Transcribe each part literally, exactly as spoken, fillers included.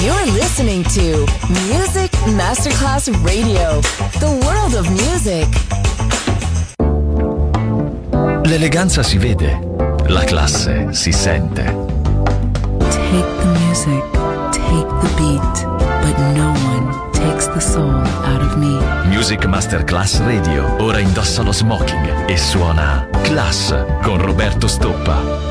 You're listening to Music Masterclass Radio, the world of music. L'eleganza si vede, la classe si sente. Take the music, take the beat, but no one takes the soul out of me. Music Masterclass Radio, ora indossa lo smoking e suona Class con Roberto Stoppa.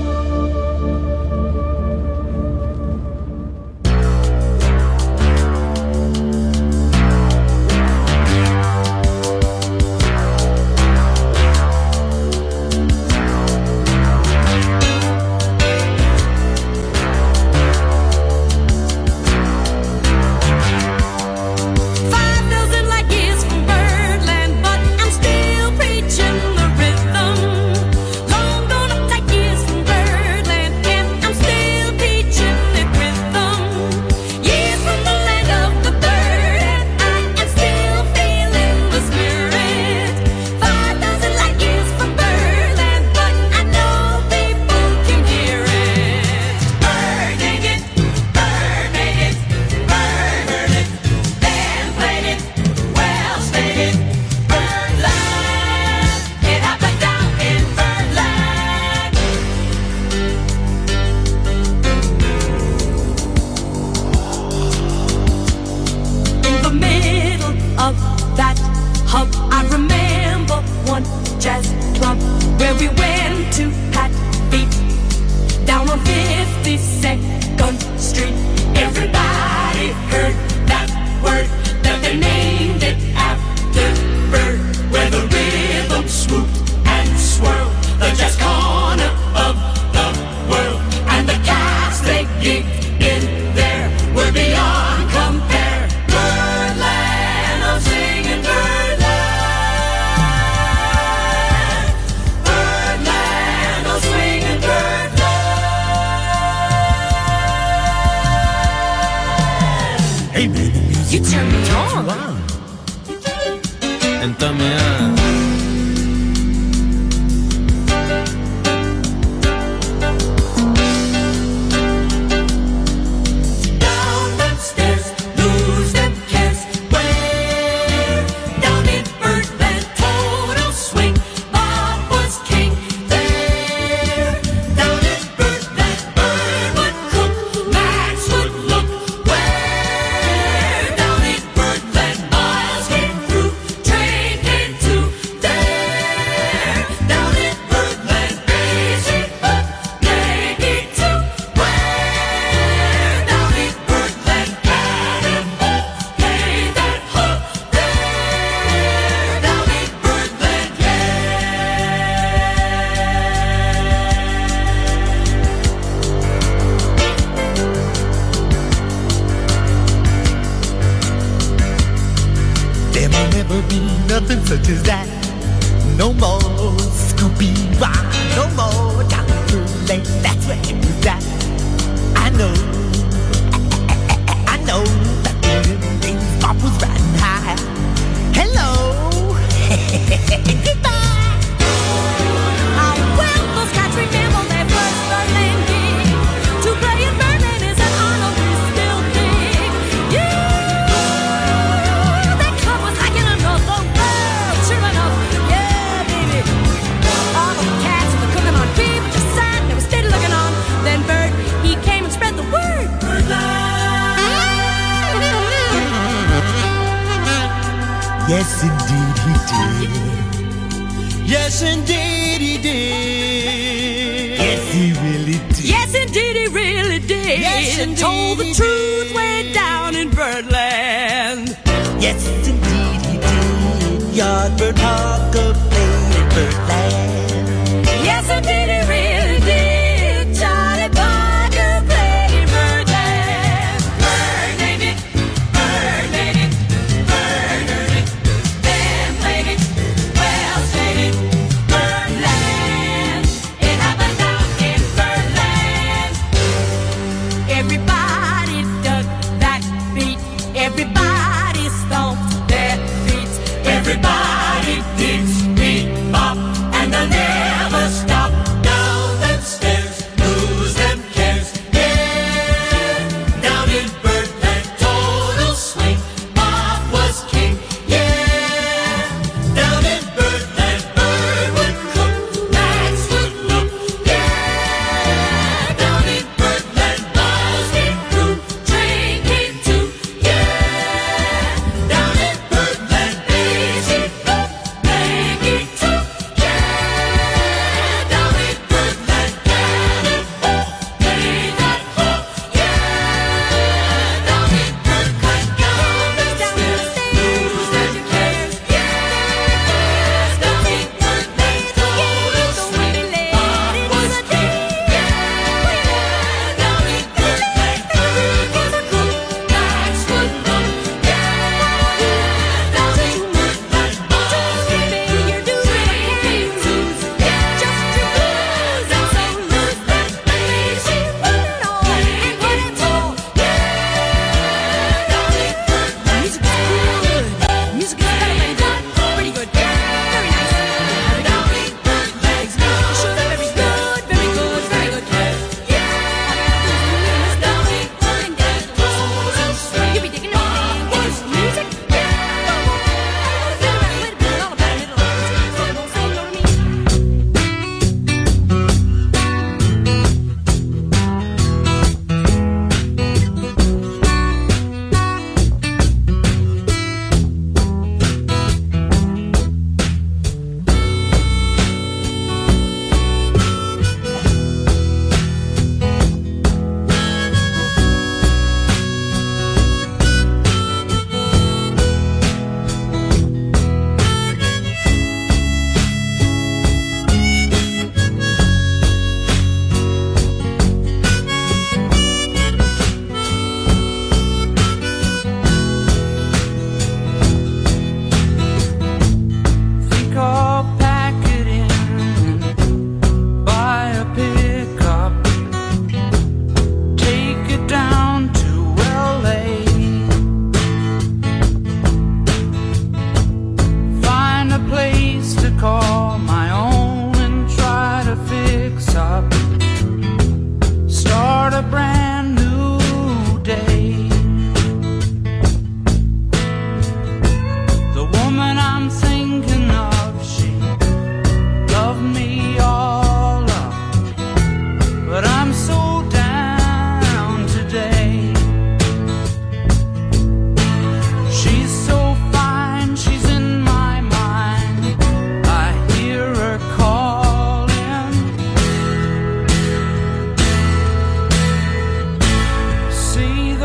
Yes, indeed he did. Yes, indeed he did. Yes, he really did. Yes, indeed he really did. Yes, indeed told the he truth did. way down in Birdland. Yes, indeed he did. Yardbird Parker played in Birdland. Yes, indeed he really did. Charlie Parker played in Birdland. Bird named it, Bird made it, Bird heard it, then played it, Wells played it, Birdland. It happened down in Birdland. Everybody dug that beat. Everybody stomped their feet. Everybody did bebop, and they'll never stop. No.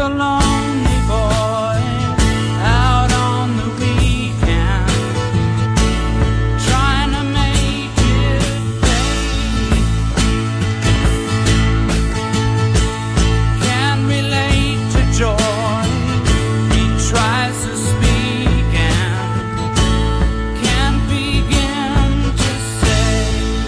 the lonely boy out on the weekend, trying to make it pay. Can't relate to joy, he tries to speak and can't begin to say.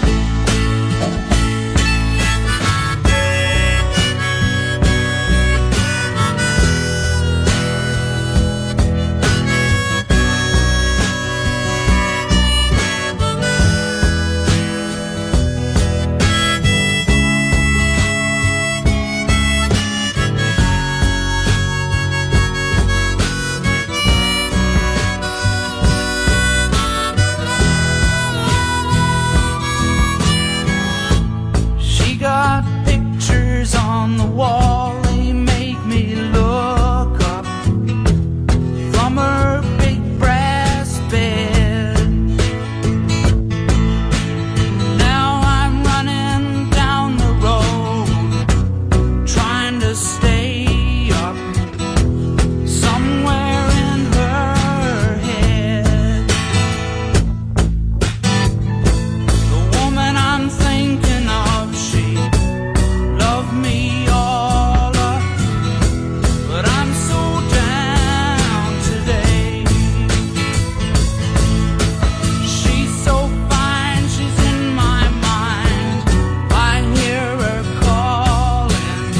She got pictures on the wall, they make me look up from her big brass bed. Now I'm running down the road, trying to stay up somewhere in her head. The woman I'm thinking of, she loved me all up, but I'm so down today. She's so fine, she's in my mind, I hear her calling.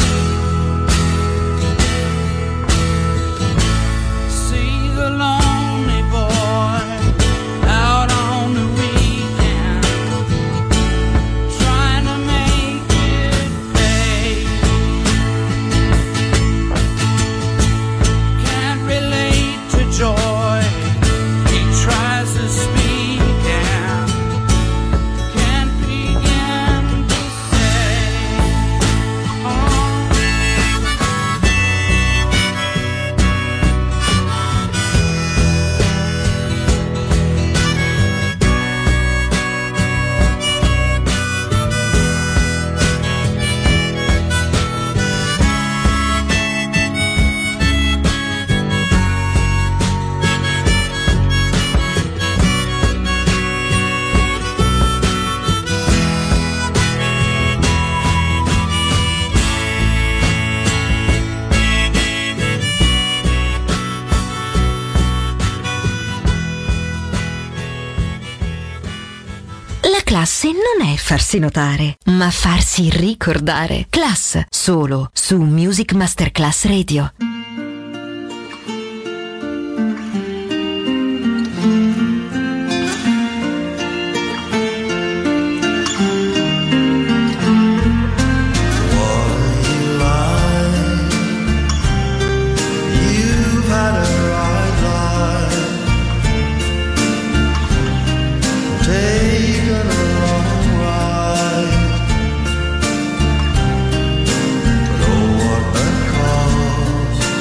See the lonely boy out on the weekend, trying to make it pay. Can't relate to joy, he tries to speak and can't begin to say. Oh. La classe non è farsi notare, ma farsi ricordare. Class, solo su Music Masterclass Radio. You've had a right life, taken a wrong ride, but oh what a cost.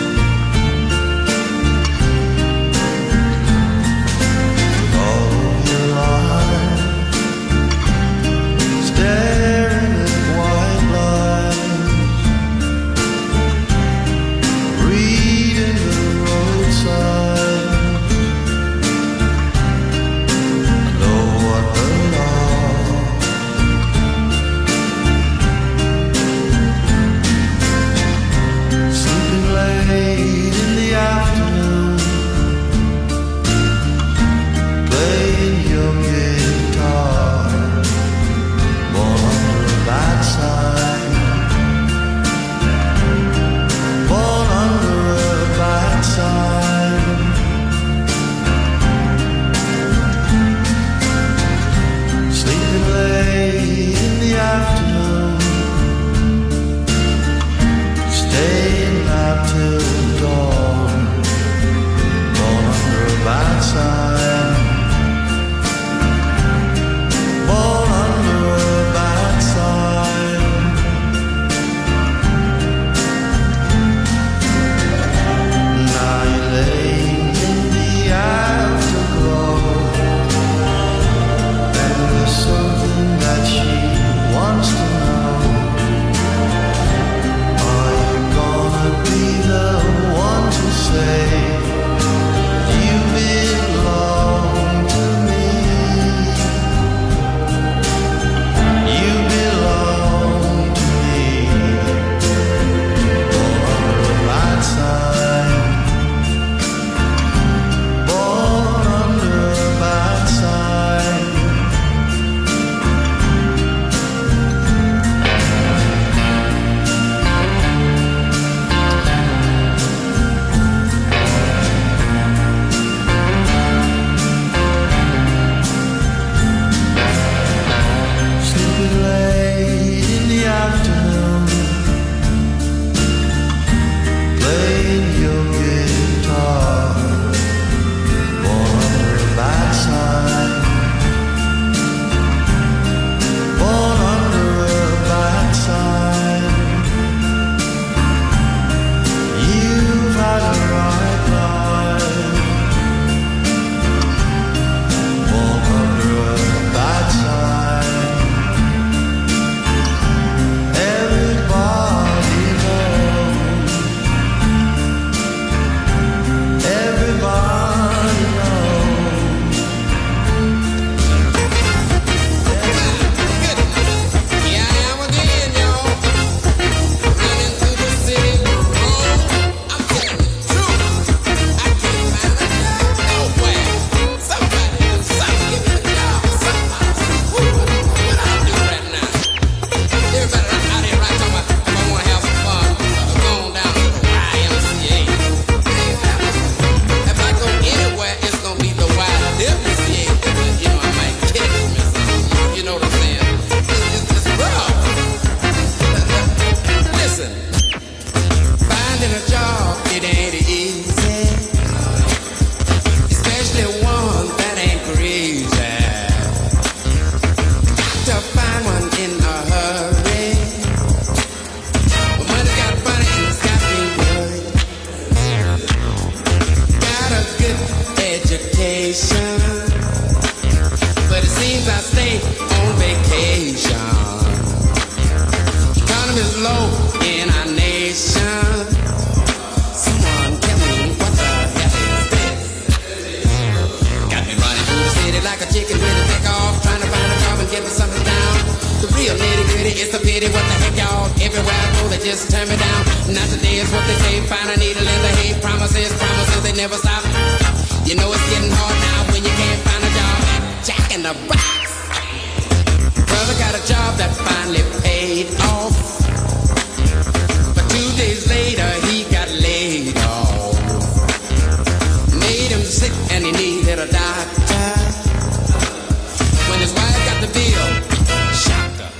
it ain't easy, especially one that ain't crazy. Got to find one in a hurry. But money got funny and it's got me worried. Got a good education, but it seems I stay on vacation. Economy's low in our nation. Someone tell me what the hell is this? Got me running through the city like a chicken with a take off, trying to find a job and get me something down. The real nitty gritty, it's a pity. What the heck, y'all? Everywhere I go, they just turn me down. Not today is what they say. Find a needle in the hay. Promises, promises, they never stop. You know it's getting hard now when you can't find a job. Jack in the Box. Brother got a job that finally paid off, but two days later he got laid off. Made him sick and he needed a doctor. When his wife got the bill, shocked her.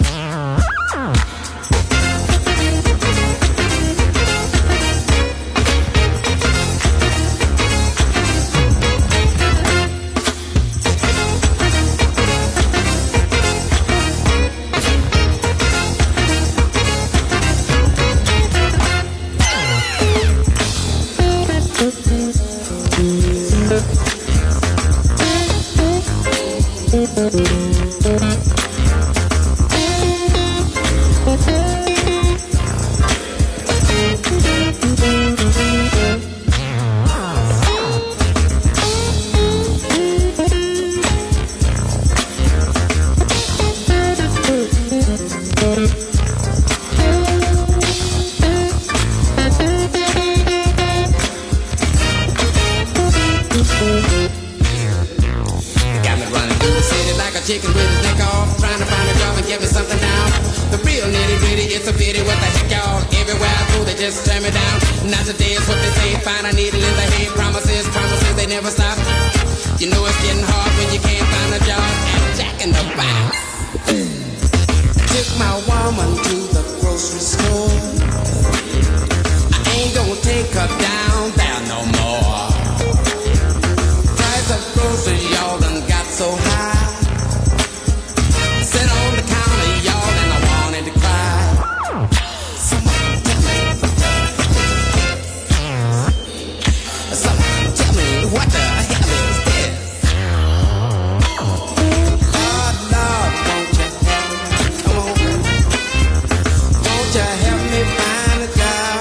Chicken with his neck off, trying to find a job and get me something now. The real nitty gritty, it's a pity. What the heck, y'all? Everywhere I go, they just turn me down. Not today is what they say. Find a needle in the hay. Promises, promises, they never stop. You know it's getting hard when you can't find a job. And Jack in the Box. Took my woman to the grocery store. I ain't gonna take her down there no more. Price of groceries, y'all done got so high. Sit on the counter, y'all, and I wanted to cry. Someone tell me what the hell is this? Someone tell me what the hell is this? Lord, Lord, won't you help me? Come on. Won't you help me find a job?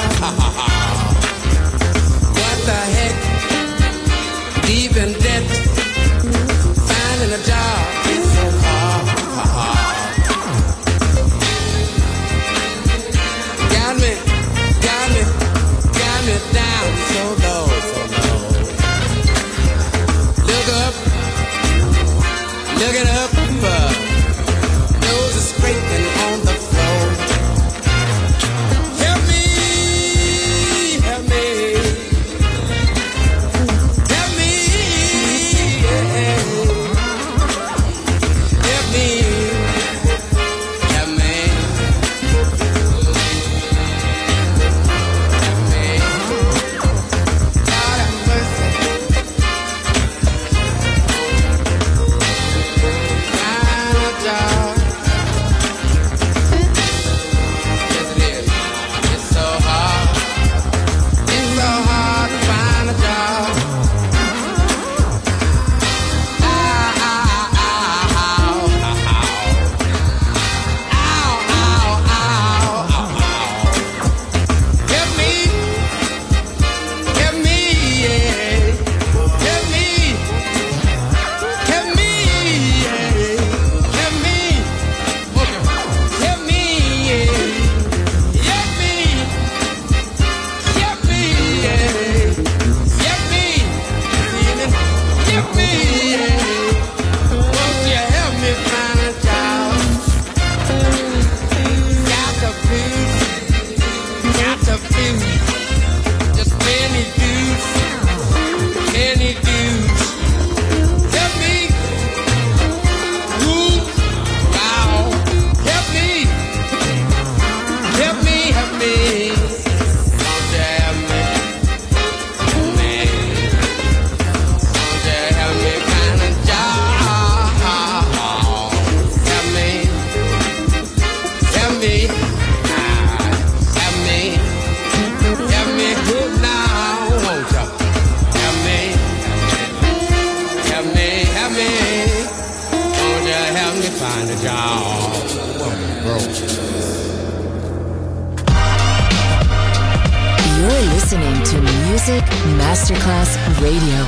listening to Music Masterclass Radio.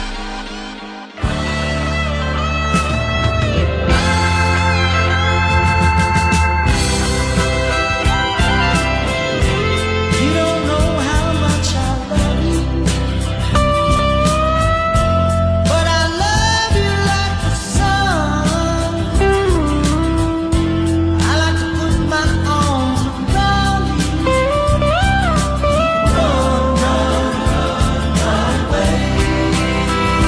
Run, run, run away.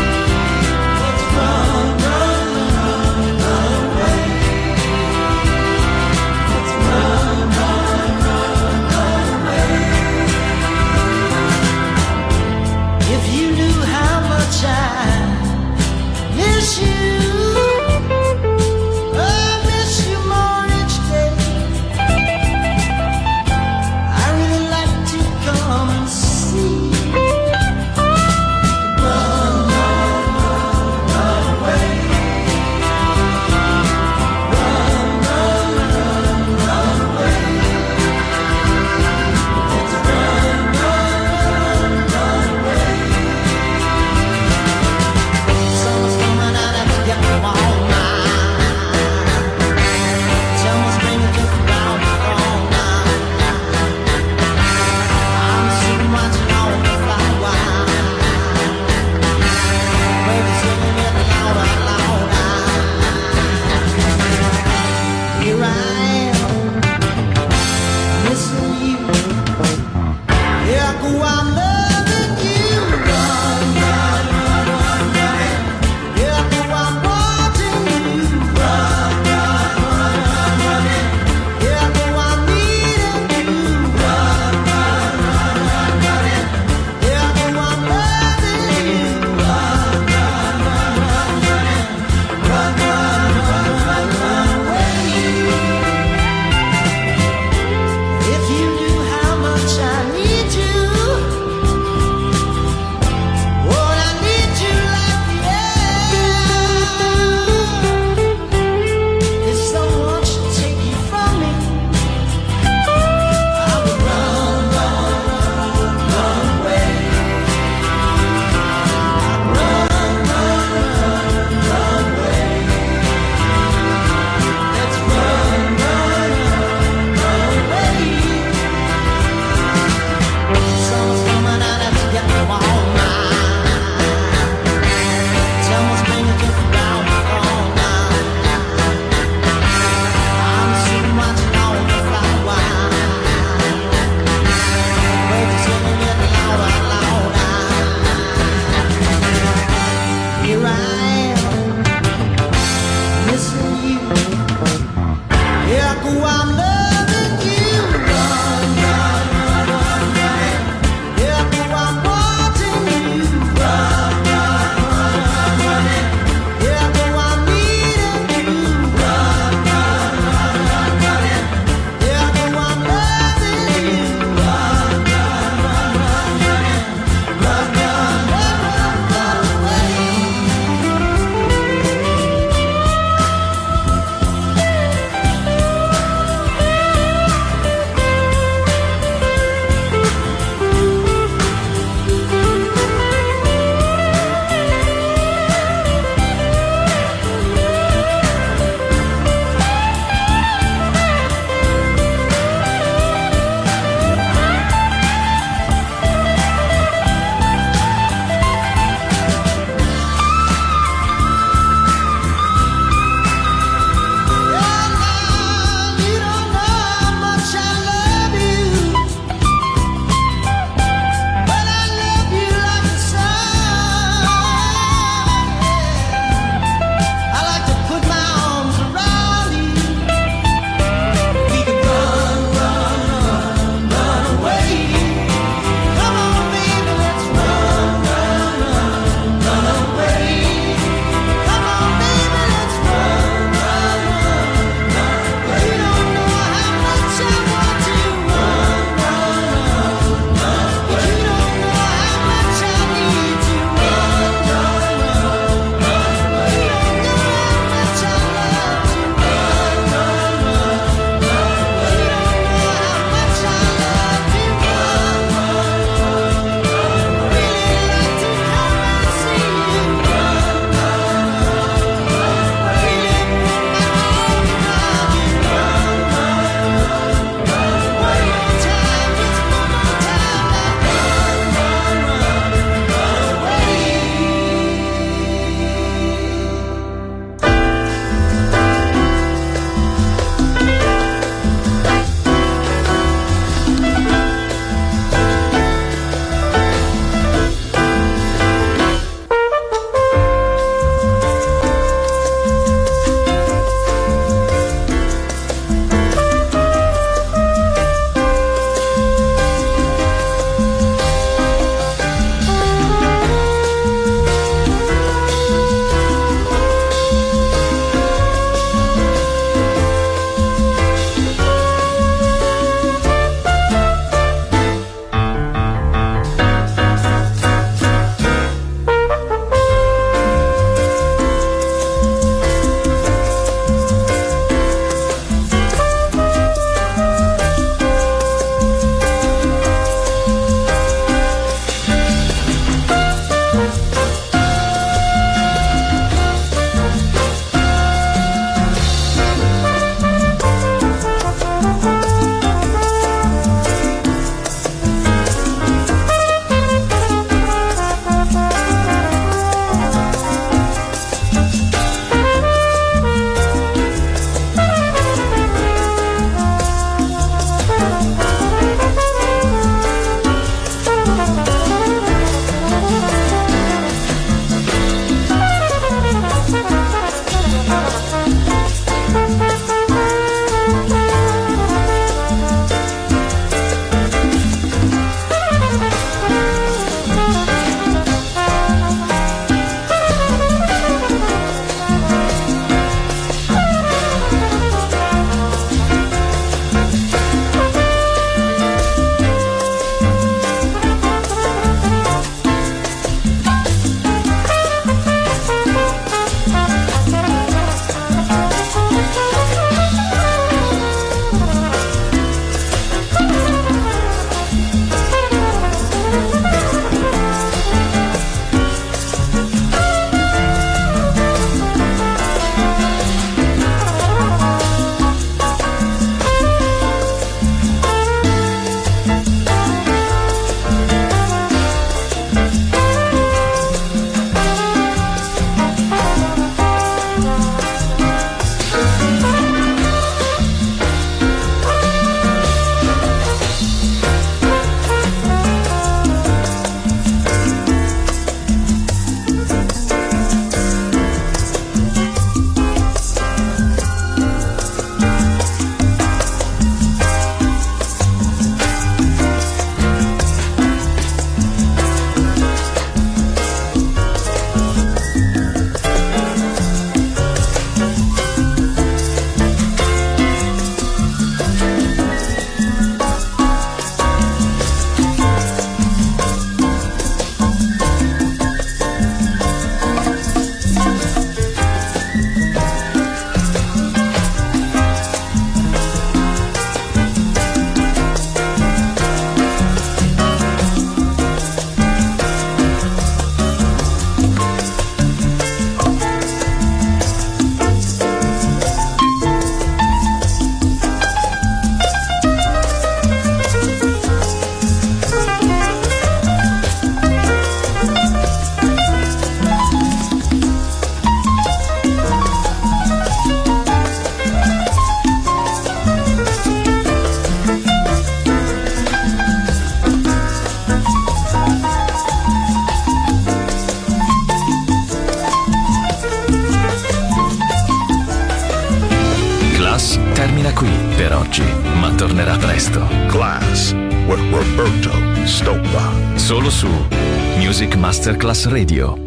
per oggi, ma tornerà presto. Class with Roberto Stoppa. Solo su Music Masterclass Radio.